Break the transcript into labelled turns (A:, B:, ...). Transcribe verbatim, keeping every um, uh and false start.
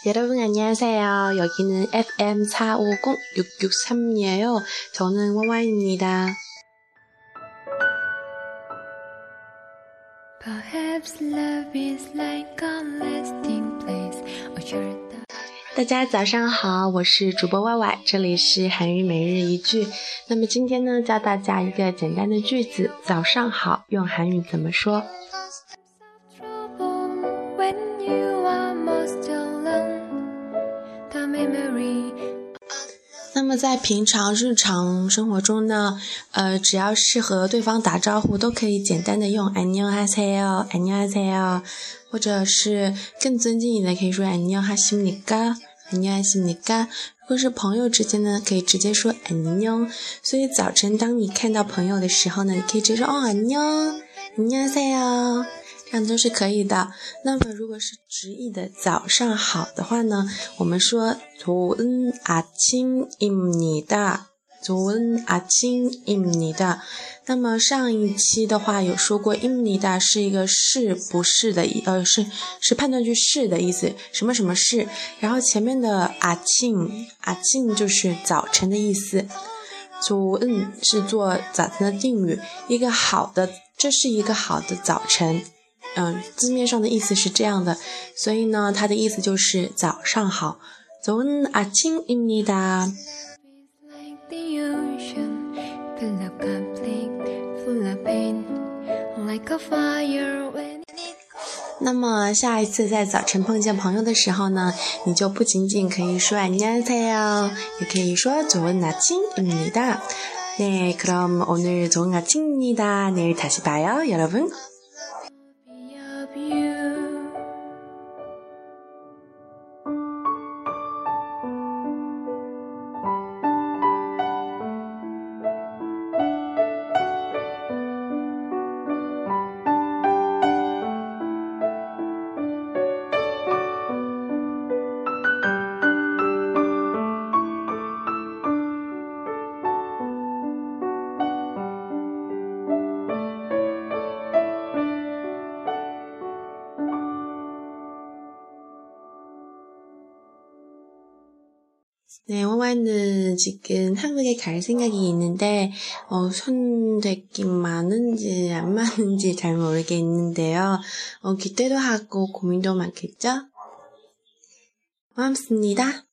A: 여러분 안녕하세요. 여기는 에프엠 사오공 육육삼이에요. 저는 와와입니다. Perhaps love is like a lasting place, a short 大家早上好，我是主播 Y Y， 这里是韩语每日一句。那么今天呢，教大家一个简单的句子，早上好，用韩语怎么说？那么在平常日常生活中呢，呃，只要是和对方打招呼，都可以简单的用안녕하세요，안녕하세요，或者是更尊敬一点的，可以说안녕하십니까，안녕하십니까。如果是朋友之间呢，可以直接说안녕。所以早晨当你看到朋友的时候呢，你可以直接说哦안녕，안녕하세요。这样都是可以的。那么如果是直译的早上好的话呢，我们说좋은 아침입니다，좋은 아침입니다。那么上一期的话有说过입니다是一个是不是的呃是是判断句是的意思，什么什么是，然后前面的아침 아침就是早晨的意思，좋은是做早晨的定语，一个好的，这是一个好的早晨。嗯，字面上的意思是这样的，所以呢，它的意思就是早上好。좋은 아침입니다。那么下一次在早晨碰见朋友的时候呢，你就不仅仅可以说안녕하세요，也可以说좋은 아침입니다。네， 그럼 오늘 좋은 아침입니다。 내일 다시 봐요， 여러분。네, 와와는 지금 한국에 갈 생각이 있는데 어, 선택이 많은지 안 많은지 잘 모르겠는데요. 어, 기대도 하고 고민도 많겠죠? 고맙습니다.